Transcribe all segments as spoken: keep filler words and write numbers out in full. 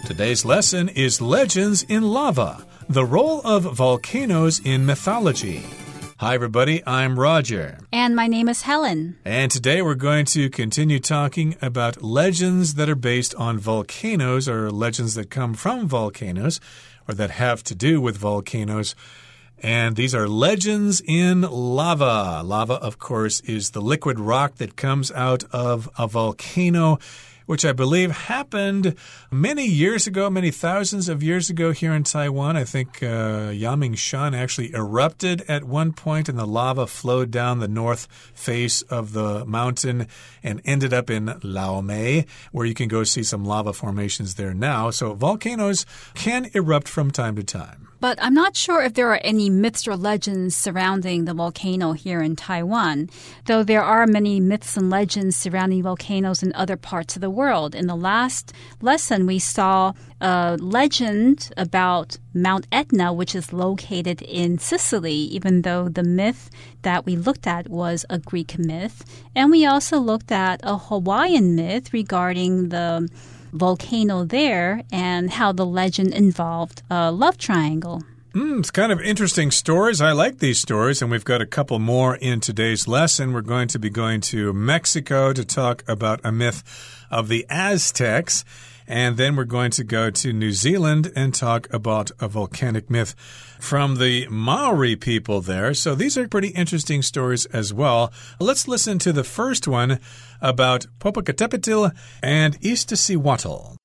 Today's lesson is Legends in Lava, the role of volcanoes in mythology. Hi, everybody. I'm Roger. And my name is Helen. And today we're going to continue talking about legends that are based on volcanoes, or legends that come from volcanoes, or that have to do with volcanoes. And these are legends in lava. Lava, of course, is the liquid rock that comes out of a volcano, which I believe happened many years ago, many thousands of years ago here in Taiwan. I think uh, Yangmingshan actually erupted at one point, and the lava flowed down the north face of the mountain and ended up in Laomei, where you can go see some lava formations there now. So volcanoes can erupt from time to time. But I'm not sure if there are any myths or legends surrounding the volcano here in Taiwan, though there are many myths and legends surrounding volcanoes in other parts of the world. In the last lesson, we saw a legend about Mount Etna, which is located in Sicily, even though the myth that we looked at was a Greek myth. And we also looked at a Hawaiian myth regarding the volcano there and how the legend involved a love triangle. Mm, it's kind of interesting stories. I like these stories, and we've got a couple more in today's lesson. We're going to be going to Mexico to talk about a myth of the Aztecs, and then we're going to go to New Zealand and talk about a volcanic myth from the Maori people there. So these are pretty interesting stories as well. Let's listen to the first one about Popocatépetl and Iztaccíhuatl.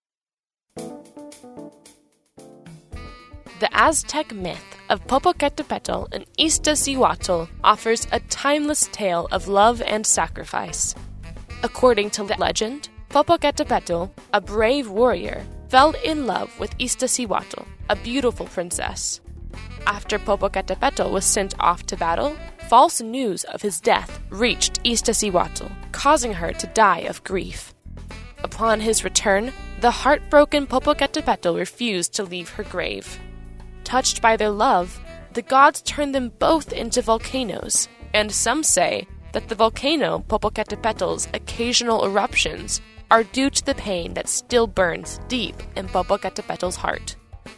The Aztec myth of Popocatépetl and Iztaccíhuatl offers a timeless tale of love and sacrifice. According to the legend, Popocatépetl, a brave warrior, fell in love with Iztaccíhuatl, a beautiful princess. After Popocatépetl was sent off to battle, false news of his death reached Iztaccíhuatl, causing her to die of grief. Upon his return, the heartbroken Popocatépetl refused to leave her grave. Touched by their love, the gods turned them both into volcanoes, and some say that the volcano Popocatépetl's occasional eruptions are due to the pain that still burns deep in Popocatépetl's heart.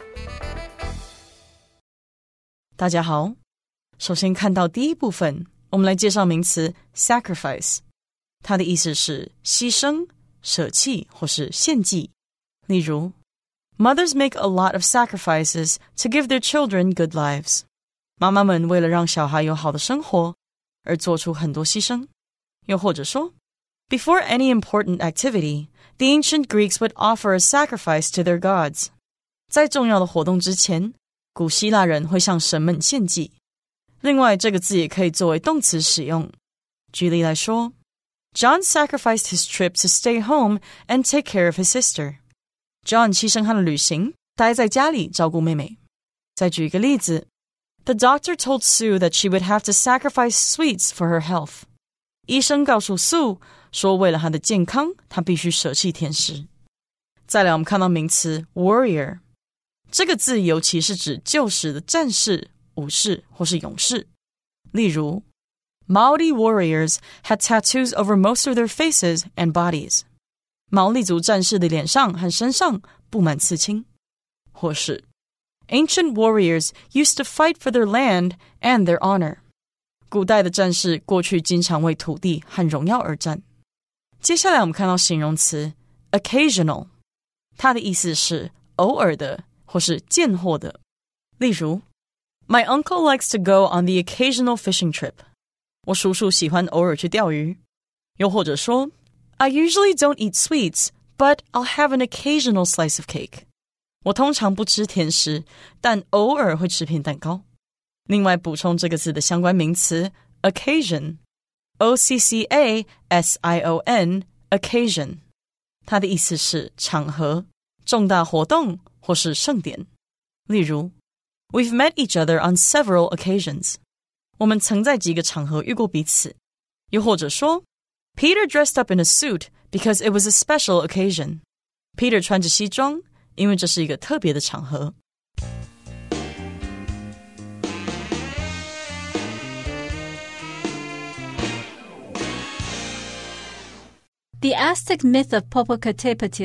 大家好，首先看到第一部分，我们来介紹名詞 sacrifice， 它的意思是犧牲、捨棄或是獻祭。例如 Mothers make a lot of sacrifices to give their children good lives. 媽媽們為了讓小孩有好的生活而做出很多犧牲。又或者說 Before any important activity, the ancient Greeks would offer a sacrifice to their gods. 在重要的活動之前，古希臘人會向神們獻祭。另外，這個字也可以作為動詞使用。舉例來說 John sacrificed his trip to stay home and take care of his sister. John 犧牲他的旅行，待在家裡照顧妹妹。再舉一個例子 The doctor told Sue that she would have to sacrifice sweets for her health. 醫生告訴 Sue 說，為了她的健康，她必須捨棄甜食。再來，我們看到名詞 warrior， 這個字尤其是指舊時的戰士、武士或是勇士。例如 Maori warriors had tattoos over most of their faces and bodies. 毛利族戰士的臉上和身上布滿刺青。或是 Ancient warriors used to fight for their land and their honor. 古代的戰士過去經常為土地和榮耀而戰。接下來我們看到形容詞 occasional， 它的意思是偶爾的或是見貨的。例如 My uncle likes to go on the occasional fishing trip. 我叔叔喜歡偶爾去釣魚。又或者說 I usually don't eat sweets, but I'll have an occasional slice of cake. 我通常不吃甜食，但偶爾會吃片蛋糕。另外補充這個字的相關名詞 occasion, O C C A S I O N, occasion. 它的意思是場合、重大活動或是盛典。例如 We've met each other on several occasions. 我們曾在幾個場合遇過彼此。又或者說Peter dressed up in a suit because it was a special occasion. Peter 穿着西裝，因為這是一個特別的場合。 The Aztec myth of Popocatépetl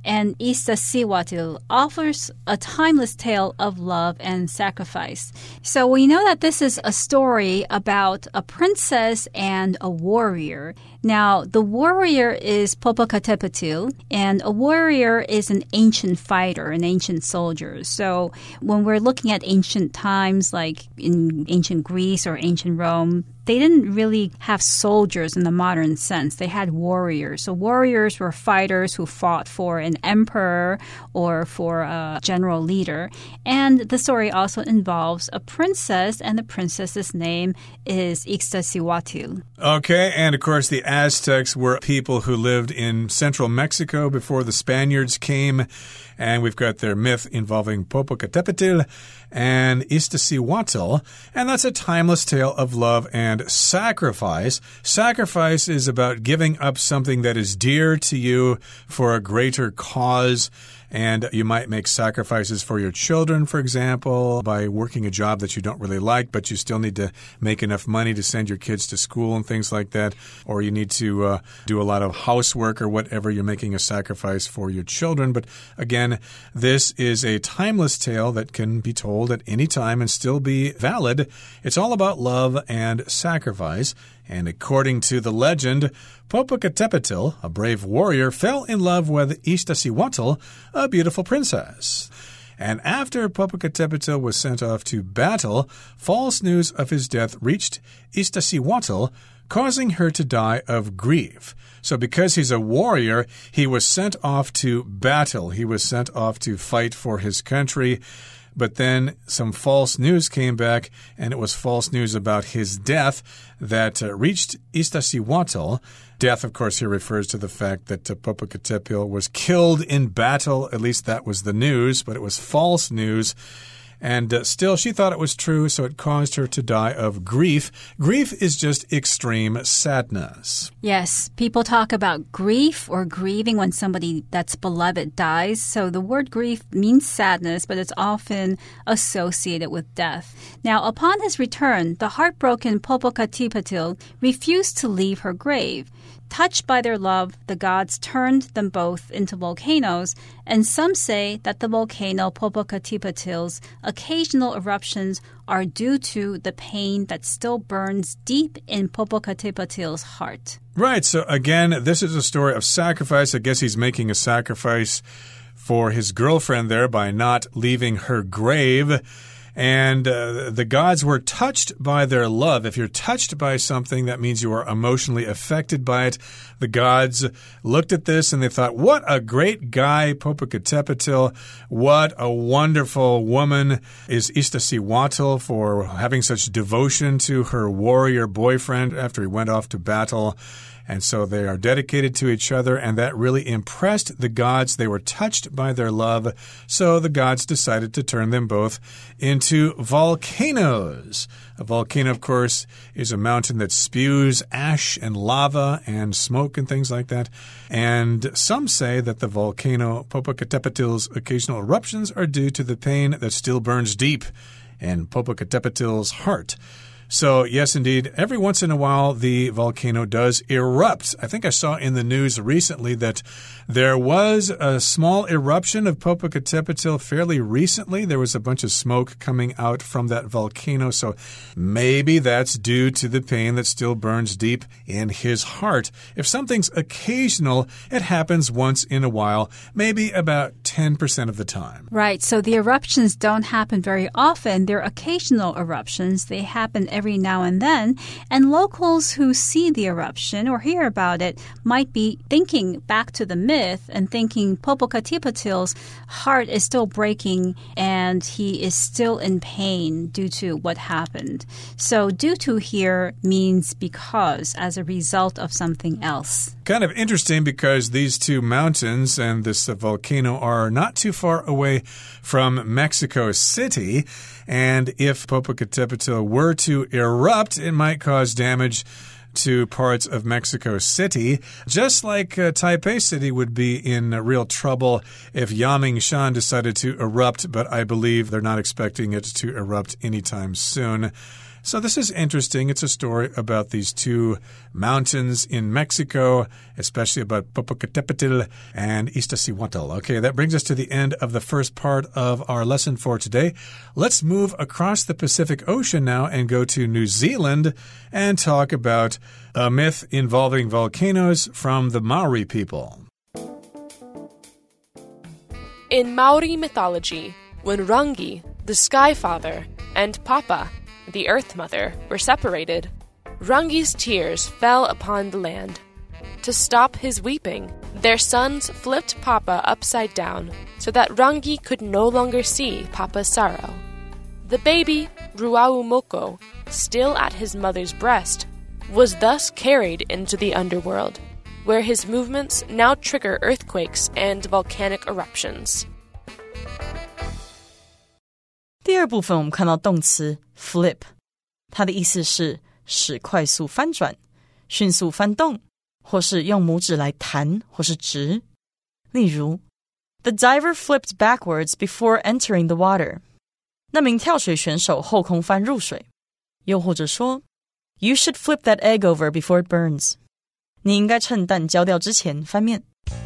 and Iztaccíhuatl offers a timeless tale of love and sacrifice. So we know that this is a story about a princess and a warrior. Now, the warrior is Popocatépetl, and a warrior is an ancient fighter, an ancient soldier. So when we're looking at ancient times, like in ancient Greece or ancient Rome, they didn't really have soldiers in the modern sense. They had warriors. So warriors were fighters who fought for an emperor or for a general leader. And the story also involves a princess, and the princess's name is Iztaccíhuatl. Okay, and of course the Aztecs were people who lived in central Mexico before the Spaniards came. And we've got their myth involving Popocatépetl and Iztaccíhuatl. And that's a timeless tale of love and sacrifice. Sacrifice is about giving up something that is dear to you for a greater cause. And you might make sacrifices for your children, for example, by working a job that you don't really like, but you still need to make enough money to send your kids to school and things like that. Or you need to uh, do a lot of housework or whatever. You're making a sacrifice for your children. But again, this is a timeless tale that can be told at any time and still be valid. It's all about love and sacrifice. And according to the legend, Popocatépetl, a brave warrior, fell in love with Iztaccíhuatl, a beautiful princess. And after Popocatépetl was sent off to battle, false news of his death reached Iztaccíhuatl, causing her to die of grief. So because he's a warrior, he was sent off to battle. He was sent off to fight for his country. But then some false news came back, and it was false news about his death that uh, reached Iztaccíhuatl. Death, of course, here refers to the fact that uh, Popocatépetl was killed in battle. At least that was the news, but it was false news. And uh, still, she thought it was true, so it caused her to die of grief. Grief is just extreme sadness. Yes, people talk about grief or grieving when somebody that's beloved dies. So the word grief means sadness, but it's often associated with death. Now, upon his return, the heartbroken Popocatépetl refused to leave her grave. Touched by their love, the gods turned them both into volcanoes, and some say that the volcano Popocatépetl occasional eruptions are due to the pain that still burns deep in Popocatépetl heart. Right, so again, this is a story of sacrifice. I guess he's making a sacrifice for his girlfriend there by not leaving her grave. And uh, the gods were touched by their love. If you're touched by something, that means you are emotionally affected by it. The gods looked at this and they thought, what a great guy, Popocatépetl. What a wonderful woman is Iztaccíhuatl for having such devotion to her warrior boyfriend after he went off to battle. And so they are dedicated to each other, and that really impressed the gods. They were touched by their love, so the gods decided to turn them both into volcanoes. A volcano, of course, is a mountain that spews ash and lava and smoke and things like that. And some say that the volcano Popocatépetl's occasional eruptions are due to the pain that still burns deep in Popocatépetl's heart. So, yes, indeed, every once in a while, the volcano does erupt. I think I saw in the news recently that there was a small eruption of Popocatépetl fairly recently. There was a bunch of smoke coming out from that volcano. So maybe that's due to the pain that still burns deep in his heart. If something's occasional, it happens once in a while, maybe about ten percent of the time. Right. So the eruptions don't happen very often. They're occasional eruptions. They happen every now and then, and locals who see the eruption or hear about it might be thinking back to the myth and thinking Popocatépetl's heart is still breaking and he is still in pain due to what happened. So due to here means because, as a result of something else. Kind of interesting because these two mountains and this uh, volcano are not too far away from Mexico City. And if Popocatépetl were to erupt, it might cause damage to parts of Mexico City, just like uh, Taipei City would be in uh, real trouble if Yangmingshan decided to erupt, but I believe they're not expecting it to erupt anytime soon. So this is interesting. It's a story about these two mountains in Mexico, especially about Popocatépetl and Iztaccíhuatl. Okay, that brings us to the end of the first part of our lesson for today. Let's move across the Pacific Ocean now and go to New Zealand and talk about a myth involving volcanoes from the Maori people. In Maori mythology, when Rangi, the Sky Father, and Papa, the Earth Mother, were separated, Rangi's tears fell upon the land. To stop his weeping, their sons flipped Papa upside down so that Rangi could no longer see Papa's sorrow. The baby, Ruaumoko, still at his mother's breast, was thus carried into the underworld, where his movements now trigger earthquakes and volcanic eruptions. 第二部分我们看到动词 flip， 它的意思是使快速翻轉、迅速翻動，或是用拇指來彈或是直。例如 The diver flipped backwards before entering the water. 那名跳水選手後空翻入水。又或者說 You should flip that egg over before it burns. 你應該趁蛋焦掉之前翻面。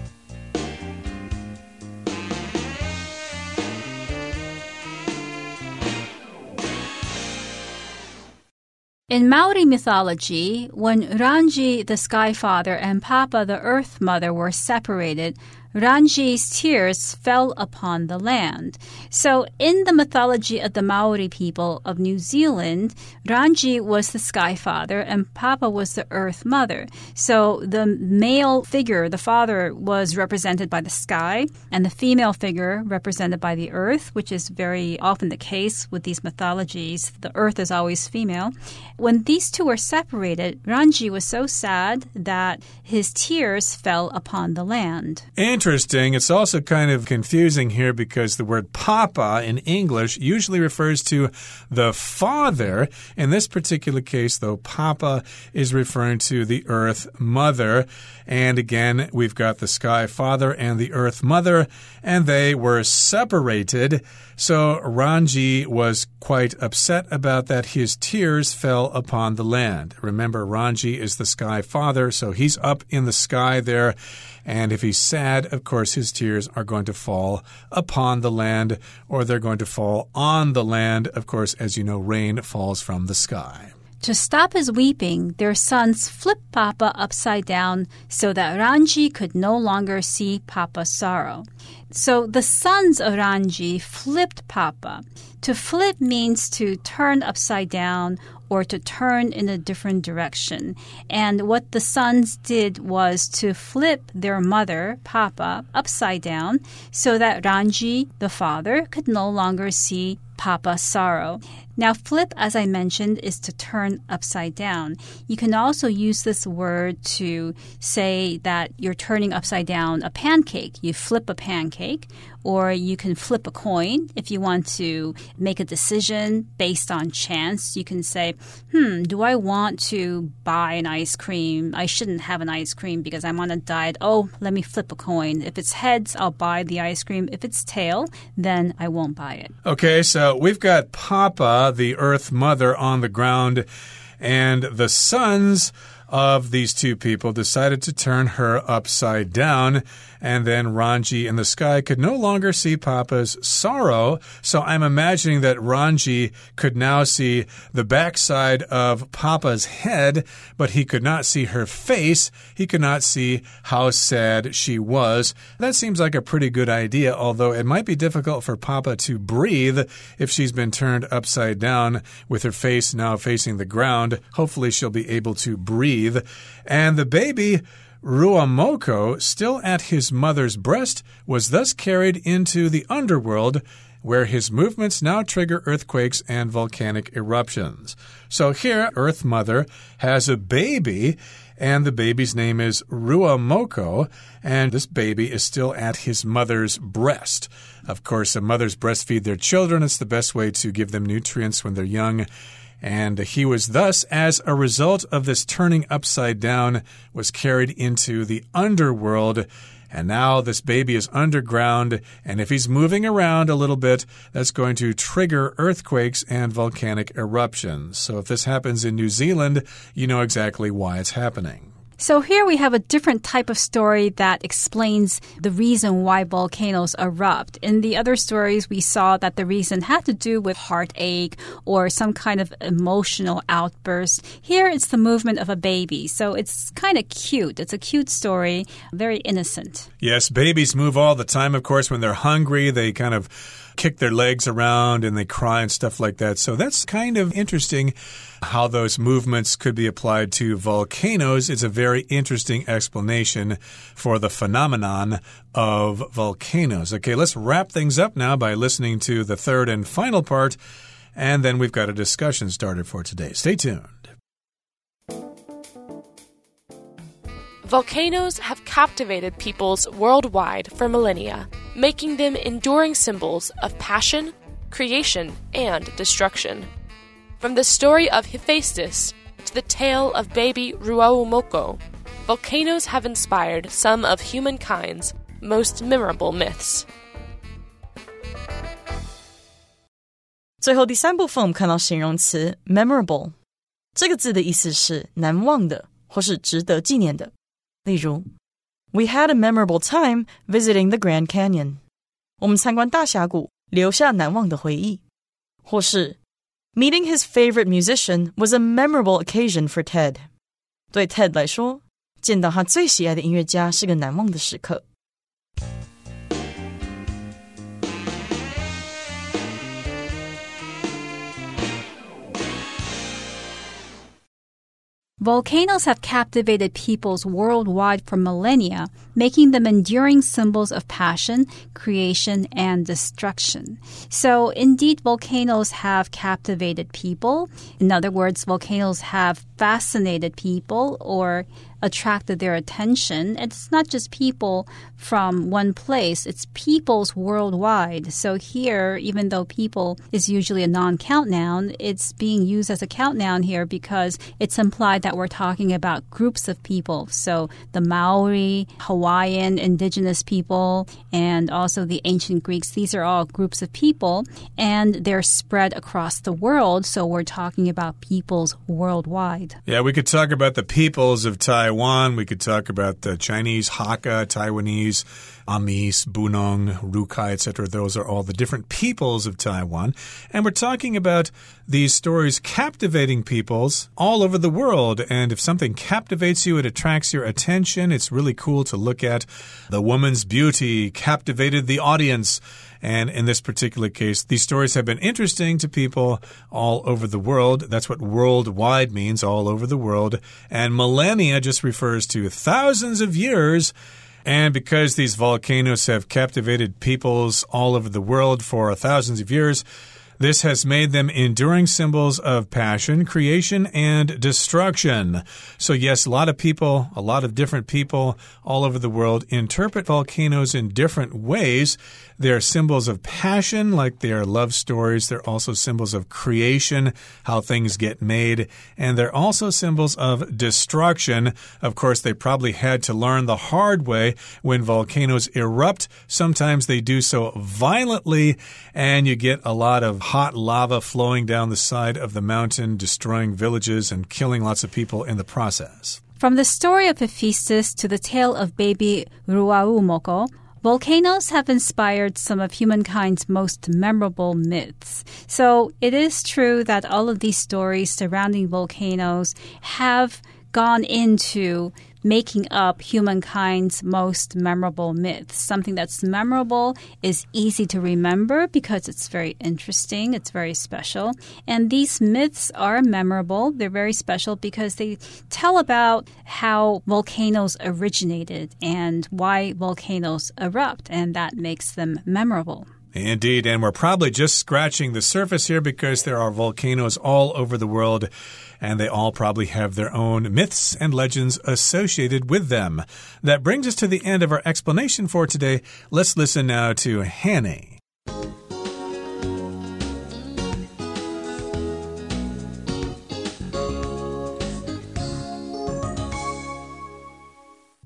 In Maori mythology, when Rangi, the Sky Father, and Papa, the Earth Mother, were separated, Rangi's tears fell upon the land. So in the mythology of the Maori people of New Zealand, Rangi was the Sky Father and Papa was the Earth Mother. So the male figure, the father, was represented by the sky and the female figure represented by the earth, which is very often the case with these mythologies. The earth is always female. When these two were separated, Rangi was so sad that his tears fell upon the land. Interesting. It's also kind of confusing here because the word Papa in English usually refers to the father. In this particular case, though, Papa is referring to the Earth Mother. And again, we've got the Sky Father and the Earth Mother, and they were separated. So Rangi was quite upset about that. His tears fell upon the land. Remember, Rangi is the Sky Father, so he's up in the sky there. And if he's sad, of course, his tears are going to fall upon the land, or they're going to fall on the land. Of course, as you know, rain falls from the sky. To stop his weeping, their sons flipped Papa upside down so that Rangi could no longer see Papa's sorrow. So the sons of Rangi flipped Papa. To flip means to turn upside down or to turn in a different direction. And what the sons did was to flip their mother, Papa, upside down so that Rangi, the father, could no longer see Papa's sorrow. Now, flip, as I mentioned, is to turn upside down. You can also use this word to say that you're turning upside down a pancake. You flip a pancake, or you can flip a coin. If you want to make a decision based on chance, you can say, hmm, do I want to buy an ice cream? I shouldn't have an ice cream because I'm on a diet. Oh, let me flip a coin. If it's heads, I'll buy the ice cream. If it's tail, then I won't buy it. Okay, so we've got Papa, the Earth Mother, on the ground, and the sons of these two people decided to turn her upside down, and then Rangi in the sky could no longer see Papa's sorrow. So I'm imagining that Rangi could now see the backside of Papa's head, but he could not see her face. He could not see how sad she was. That seems like a pretty good idea, although it might be difficult for Papa to breathe if she's been turned upside down with her face now facing the ground. Hopefully she'll be able to breathe. And the baby, Ruaumoko, still at his mother's breast, was thus carried into the underworld, where his movements now trigger earthquakes and volcanic eruptions. So here, Earth Mother has a baby, and the baby's name is Ruaumoko, and this baby is still at his mother's breast. Of course, the mothers breastfeed their children. It's the best way to give them nutrients when they're young. And he was thus, as a result of this turning upside down, was carried into the underworld. And now this baby is underground, and if he's moving around a little bit, that's going to trigger earthquakes and volcanic eruptions. So if this happens in New Zealand, you know exactly why it's happening. So here we have a different type of story that explains the reason why volcanoes erupt. In the other stories, we saw that the reason had to do with heartache or some kind of emotional outburst. Here, it's the movement of a baby. So it's kind of cute. It's a cute story, very innocent. Yes, babies move all the time, of course. When they're hungry, they kind of kick their legs around and they cry and stuff like that. So that's kind of interesting how those movements could be applied to volcanoes. It's a very interesting explanation for the phenomenon of volcanoes. Okay, let's wrap things up now by listening to the third and final part, and then we've got a discussion started for today. Stay tuned. Volcanoes have captivated peoples worldwide for millennia, making them enduring symbols of passion, creation, and destruction. From the story of Hephaestus to the tale of baby Ruaumoko, volcanoes have inspired some of humankind's most memorable myths. 最后第三部分我们看到形容詞 memorable 这個字的意思是難忘的或是值得紀念的。例如 We had a memorable time visiting the Grand Canyon. 我們參觀大峽谷，留下難忘的回憶。或是 Meeting his favorite musician was a memorable occasion for Ted. 對 Ted 來說，見到他最喜愛的音樂家是個難忘的時刻。 Volcanoes have captivated peoples worldwide for millennia, making them enduring symbols of passion, creation, and destruction. So, indeed, volcanoes have captivated people. In other words, volcanoes have fascinated people or attracted their attention. It's not just people from one place, it's peoples worldwide. So here, even though people is usually a non-count noun, it's being used as a count noun here because it's implied that we're talking about groups of people. So the Maori, Hawaiian, indigenous people, and also the ancient Greeks, these are all groups of people, and they're spread across the world. So we're talking about peoples worldwide. Yeah, we could talk about the peoples of Taiwan. We could talk about the Chinese, Hakka, Taiwanese, Amis, Bunong, Rukai, et cetera. Those are all the different peoples of Taiwan. And we're talking about these stories captivating peoples all over the world. And if something captivates you, it attracts your attention. It's really cool to look at. The woman's beauty captivated the audience. And in this particular case, these stories have been interesting to people all over the world. That's what worldwide means, all over the world. And millennia just refers to thousands of years. And because these volcanoes have captivated peoples all over the world for thousands of years, this has made them enduring symbols of passion, creation, and destruction. So yes, a lot of people, a lot of different people all over the world interpret volcanoes in different ways. They're symbols of passion, like they are love stories. They're also symbols of creation, how things get made. And they're also symbols of destruction. Of course, they probably had to learn the hard way when volcanoes erupt. Sometimes they do so violently, and you get a lot of hot lava flowing down the side of the mountain, destroying villages and killing lots of people in the process. From the story of Hephaestus to the tale of baby Ruaumoko, volcanoes have inspired some of humankind's most memorable myths. So it is true that all of these stories surrounding volcanoes have gone into making up humankind's most memorable myths. Something that's memorable is easy to remember because it's very interesting, it's very special. And these myths are memorable. They're very special because they tell about how volcanoes originated and why volcanoes erupt, and that makes them memorable. Indeed, and we're probably just scratching the surface here because there are volcanoes all over the world, and they all probably have their own myths and legends associated with them. That brings us to the end of our explanation for today. Let's listen now to Hanny.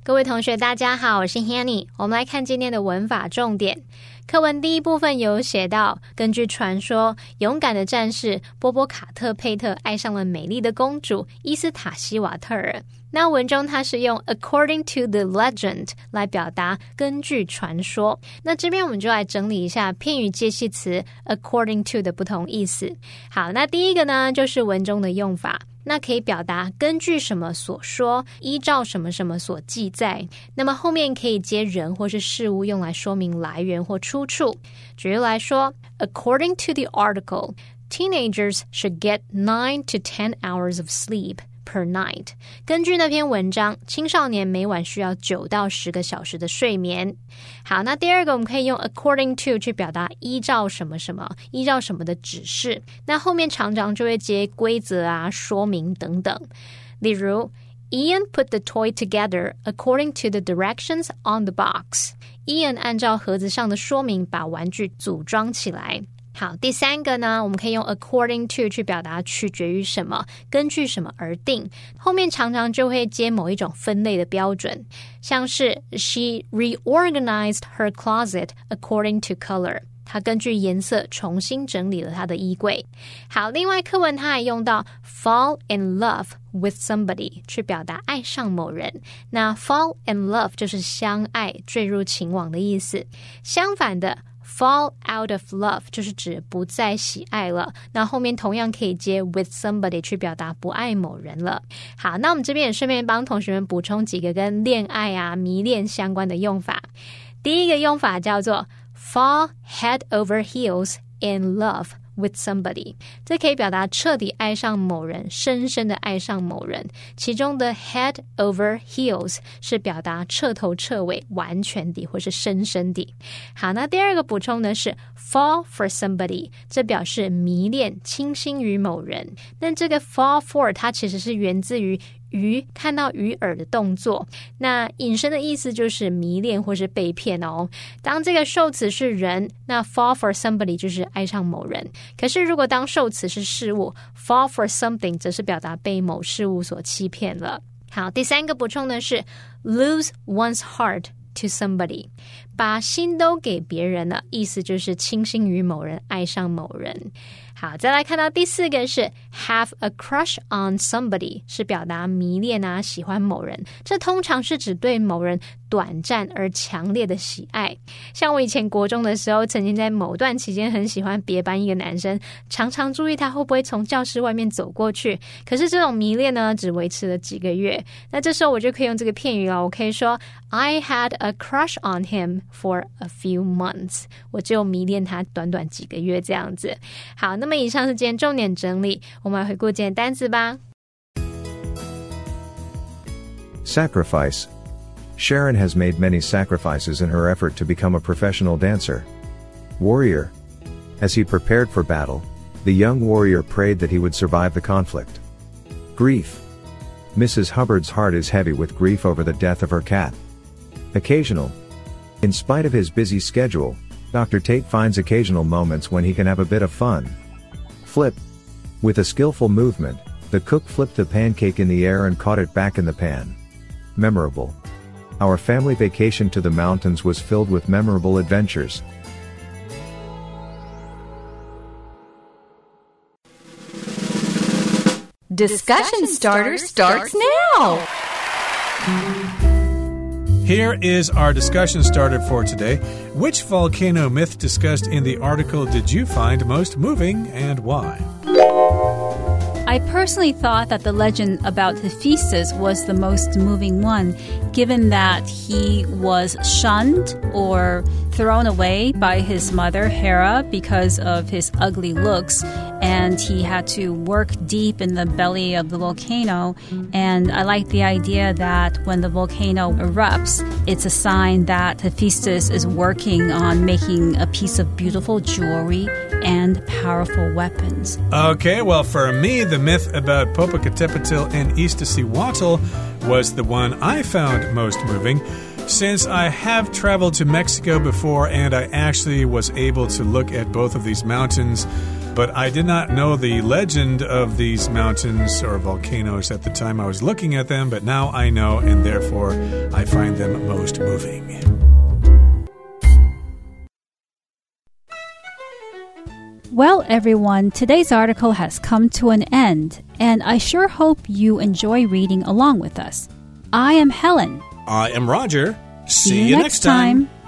各位同學大家好，我是 Hanny， 我們來看今天的文法重點。課文第一部分有寫到，根據傳說，勇敢的戰士波波卡特佩特愛上了美麗的公主伊斯塔西瓦特爾。那文中它是用 according to the legend 來表達根據傳說。那這邊我們就來整理一下片語介系詞 according to 的不同意思。好，那第一個呢就是文中的用法，那可以表達根據什麼所說，依照什麼什麼所記載。那麼後面可以接人或是事物，用來說明來源或出處。舉例來說 According to the article, teenagers should get nine to ten hours of sleep per night. 根據那篇文章，青少年每晚需要九到十個小時的睡眠。好，那第二個我們可以用 according to 去表達依照什麼什麼，依照什麼的指示。那後面常常就會接規則啊、說明等等。例如 Ian put the toy together according to the directions on the box. Ian 按照盒子上的說明把玩具組裝起來。好，第三個呢，我們可以用 according to 去表達取決於什麼，根據什麼而定。後面常常就會接某一種分類的標準，像是 She reorganized her closet according to color. 她根據顏色重新整理了她的衣櫃。好，另外課文它還用到 fall in love with somebody 去表達愛上某人。那 fall in love 就是相愛、墜入情網的意思。相反的Fall out of love 就是指不再喜愛了，那後面同樣可以接 with somebody 去表達不愛某人了。好，那我們這邊也順便幫同學們補充幾個跟戀愛啊、迷戀相關的用法。第一個用法叫做 fall head over heels in love with somebody， 這可以表達徹底愛上某人，深深的愛上某人。其中的 head over heels 是表達徹頭徹尾、完全的或是深深的。好，那第二個補充呢是 fall for somebody， 這表示迷戀、傾心於某人。那這個 fall for 它其實是源自於魚看到魚餌的動作，那引申的意思就是迷戀或是被騙哦。當這個受詞是人，那 fall for somebody 就是愛上某人。可是如果當受詞是事物， fall for something 則是表達被某事物所欺騙了。好，第三個補充的是 lose one's heart to somebody， 把心都給別人了，意思就是傾心於某人，愛上某人。好，再來看到第四個是 have a crush on somebody， 是表達迷戀啊，喜歡某人。這通常是指對某人短暫而強烈的喜愛。像我以前國中的時候，曾經在某段期間很喜歡別班一個男生，常常注意他會不會從教室外面走過去。可是這種迷戀呢，只維持了幾個月。那這時候我就可以用這個片語了，我可以說 I had a crush on him for a few months， 我只有迷戀他短短幾個月這樣子。好，那麼以上是今天重點整理，我們來回顧今天單詞吧。 Sacrifice. Sharon has made many sacrifices in her effort to become a professional dancer. Warrior. As he prepared for battle, the young warrior prayed that he would survive the conflict. Grief. Missus Hubbard's heart is heavy with grief over the death of her cat. Occasional. In spite of his busy schedule, Doctor Tate finds occasional moments when he can have a bit of fun. Flip. With a skillful movement, the cook flipped the pancake in the air and caught it back in the pan. Memorable. Our family vacation to the mountains was filled with memorable adventures. Discussion starter starts now! Here is our discussion starter for today. Which volcano myth discussed in the article did you find most moving and why? I personally thought that the legend about Hephaestus was the most moving one, given that he was shunned or thrown away by his mother, Hera, because of his ugly looks, and he had to work deep in the belly of the volcano. And I like the idea that when the volcano erupts, it's a sign that Hephaestus is working on making a piece of beautiful jewelry and powerful weapons. Okay, well, for me, the myth about Popocatépetl and Iztaccíhuatl was the one I found most moving. Since I have traveled to Mexico before and I actually was able to look at both of these mountains, but I did not know the legend of these mountains or volcanoes at the time I was looking at them, but now I know, and therefore I find them most moving. Well, everyone, today's article has come to an end, and I sure hope you enjoy reading along with us. I am Helen. I am Roger. See, See you, you next time. time.